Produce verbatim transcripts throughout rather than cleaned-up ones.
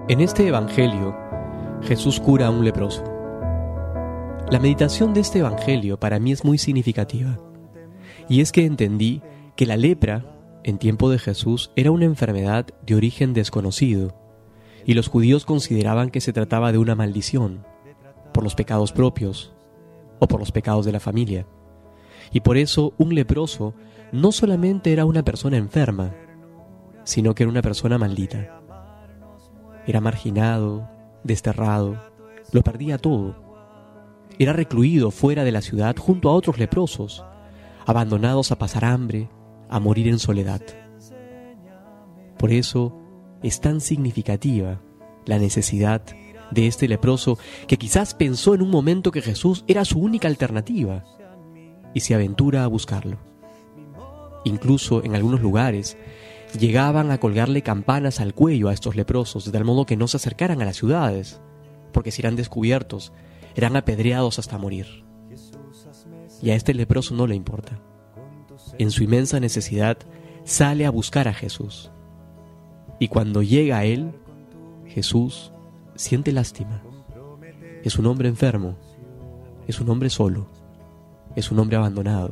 En este evangelio, Jesús cura a un leproso. La meditación de este evangelio para mí es muy significativa, y es que entendí que la lepra, en tiempo de Jesús, era una enfermedad de origen desconocido, y los judíos consideraban que se trataba de una maldición, por los pecados propios o por los pecados de la familia. Y por eso un leproso no solamente era una persona enferma, sino que era una persona maldita. Era marginado, desterrado, lo perdía todo. Era recluido fuera de la ciudad junto a otros leprosos, abandonados a pasar hambre, a morir en soledad. Por eso es tan significativa la necesidad de este leproso que quizás pensó en un momento que Jesús era su única alternativa y se aventura a buscarlo. Incluso en algunos lugares llegaban a colgarle campanas al cuello a estos leprosos, de tal modo que no se acercaran a las ciudades, porque si eran descubiertos, eran apedreados hasta morir. Y a este leproso no le importa. En su inmensa necesidad, sale a buscar a Jesús. Y cuando llega a él, Jesús siente lástima. Es un hombre enfermo, es un hombre solo, es un hombre abandonado.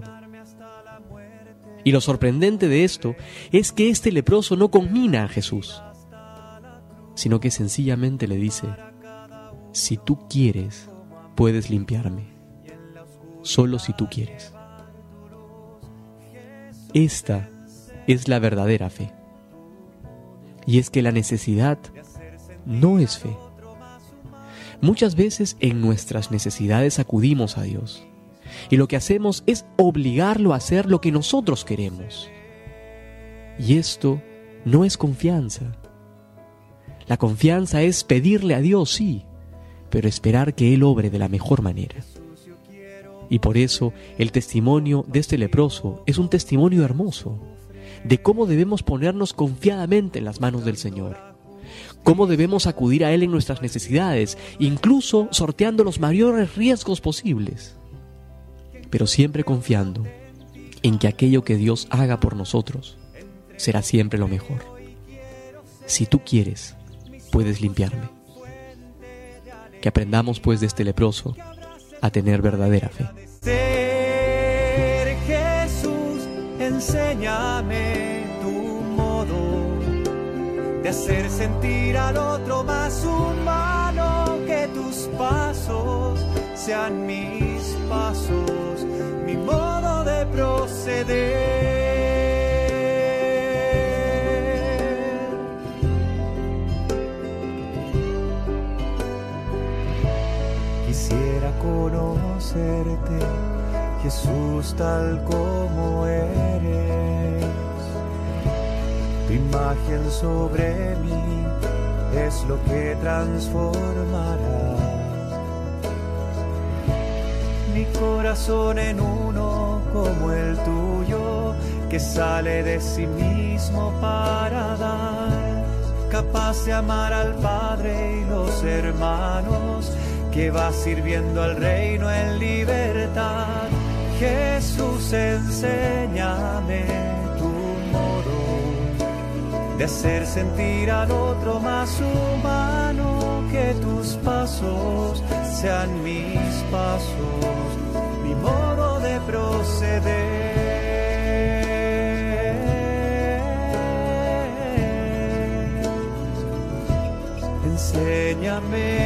Y lo sorprendente de esto es que este leproso no conmina a Jesús, sino que sencillamente le dice: si tú quieres, puedes limpiarme, solo si tú quieres. Esta es la verdadera fe. Y es que la necesidad no es fe. Muchas veces en nuestras necesidades acudimos a Dios, y lo que hacemos es obligarlo a hacer lo que nosotros queremos. Y esto no es confianza. La confianza es pedirle a Dios, sí, pero esperar que Él obre de la mejor manera. Y por eso el testimonio de este leproso es un testimonio hermoso de cómo debemos ponernos confiadamente en las manos del Señor, cómo debemos acudir a Él en nuestras necesidades, incluso sorteando los mayores riesgos posibles, pero siempre confiando en que aquello que Dios haga por nosotros será siempre lo mejor. Si tú quieres, puedes limpiarme. Que aprendamos pues de este leproso a tener verdadera fe. Jesús, enséñame tu modo de hacer sentir al otro más humano, que tus pasos sean mis pasos, mi modo de proceder. Quisiera conocerte, Jesús, tal como eres. Tu imagen sobre mí es lo que transformará mi corazón en uno como el tuyo, que sale de sí mismo para dar, capaz de amar al Padre y los hermanos, que va sirviendo al reino en libertad. Jesús, enséñame tu modo de hacer sentir al otro más humano, que tus pasos sean mis pasos, mi modo de proceder. Enséñame